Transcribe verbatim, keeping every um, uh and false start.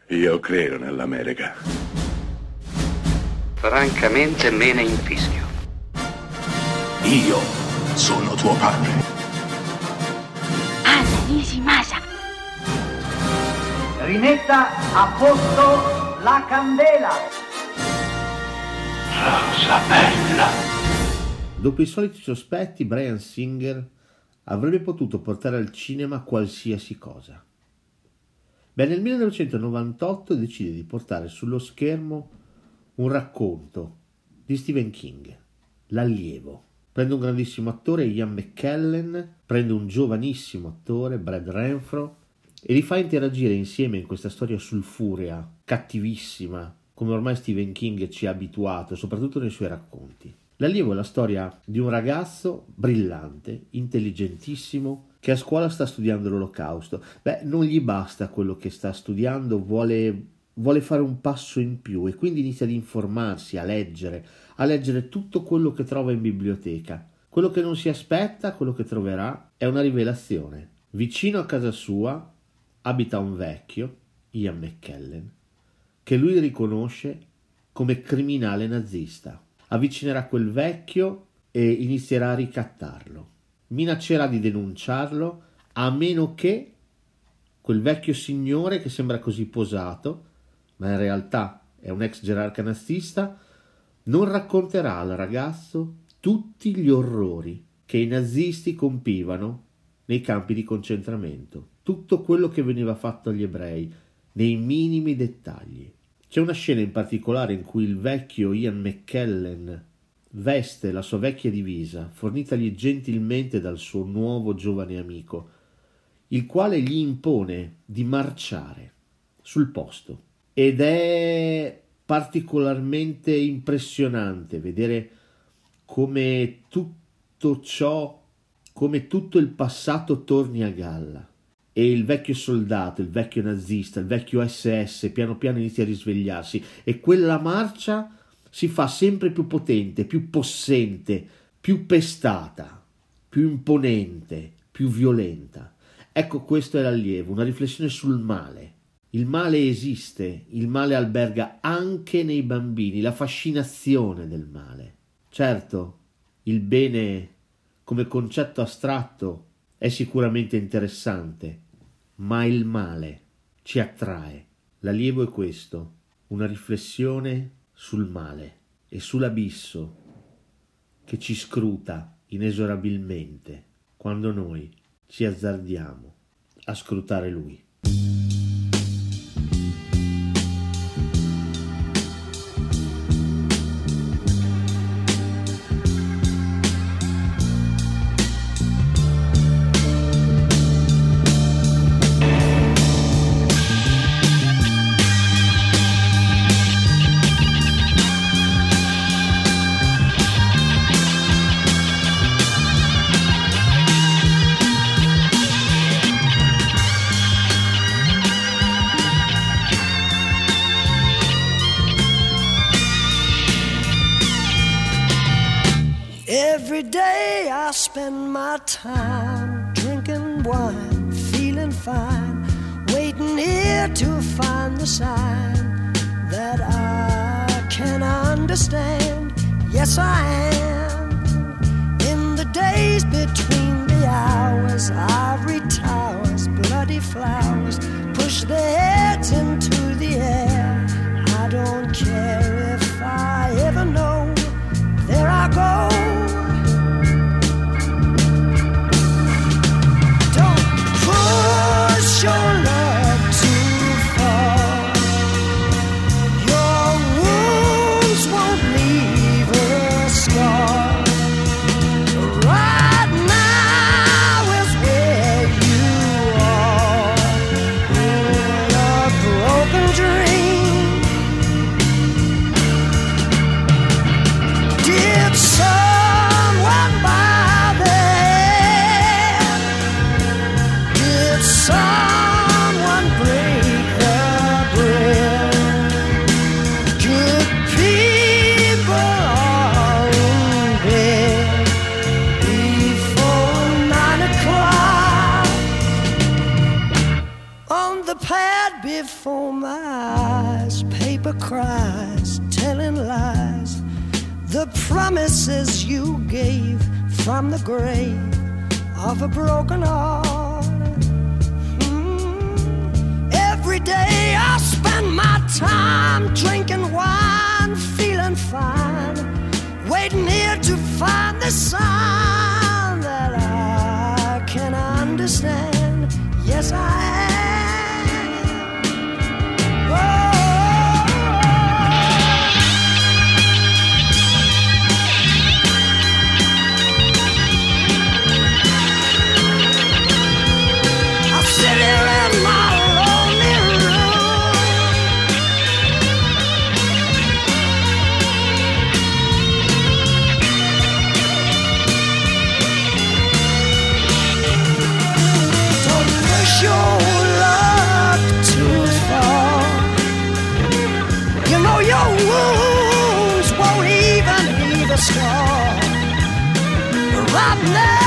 Io credo nell'America. Francamente me ne infischio. Io sono tuo padre. Anna Nishimasa. Rimetta a posto la candela. Rosa bella. Dopo i soliti sospetti, Bryan Singer avrebbe potuto portare al cinema qualsiasi cosa. Beh, nel millenovecentonovantotto decide di portare sullo schermo un racconto di Stephen King, L'allievo. Prende un grandissimo attore, Ian McKellen, prende un giovanissimo attore, Brad Renfro, e li fa interagire insieme in questa storia sulfurea, cattivissima, come ormai Stephen King ci ha abituato, soprattutto nei suoi racconti. L'allievo è la storia di un ragazzo brillante, intelligentissimo, che a scuola sta studiando l'Olocausto. Beh, non gli basta quello che sta studiando, vuole, vuole fare un passo in più e quindi inizia ad informarsi, a leggere, a leggere tutto quello che trova in biblioteca. Quello che non si aspetta, quello che troverà, è una rivelazione. Vicino a casa sua abita un vecchio, Ian McKellen, che lui riconosce come criminale nazista. Avvicinerà quel vecchio e inizierà a ricattarlo. Minaccerà di denunciarlo a meno che quel vecchio signore, che sembra così posato, ma in realtà è un ex gerarca nazista, non racconterà al ragazzo tutti gli orrori che i nazisti compivano nei campi di concentramento, tutto quello che veniva fatto agli ebrei, nei minimi dettagli. C'è una scena in particolare in cui il vecchio Ian McKellen veste la sua vecchia divisa, fornitagli gentilmente dal suo nuovo giovane amico, il quale gli impone di marciare sul posto. Ed è particolarmente impressionante vedere come tutto ciò, come tutto il passato torni a galla. E il vecchio soldato, il vecchio nazista, il vecchio esse esse piano piano inizia a risvegliarsi e quella marcia si fa sempre più potente, più possente, più pestata, più imponente, più violenta. Ecco, questo è l'allievo, una riflessione sul male. Il male esiste, il male alberga anche nei bambini, la fascinazione del male. Certo, il bene come concetto astratto è sicuramente interessante, ma il male ci attrae. L'allievo è questo, una riflessione sul male e sull'abisso che ci scruta inesorabilmente quando noi ci azzardiamo a scrutare lui. Every day I spend my time drinking wine, feeling fine, waiting here to find the sign that I can understand. Yes, I am. In the days between the hours, ivory towers, bloody flowers push their heads into the air. I don't care if I ever know. There I go. Push your love too far. Your wounds won't leave a scar. Right now is where you are. Put my eyes, paper cries, telling lies. The promises you gave from the grave of a broken heart. Mm. Every day I spend my time drinking wine, feeling fine, waiting here to find the sign that I can understand. Yes, I am. Oh. Wounds won't even leave a scar right now.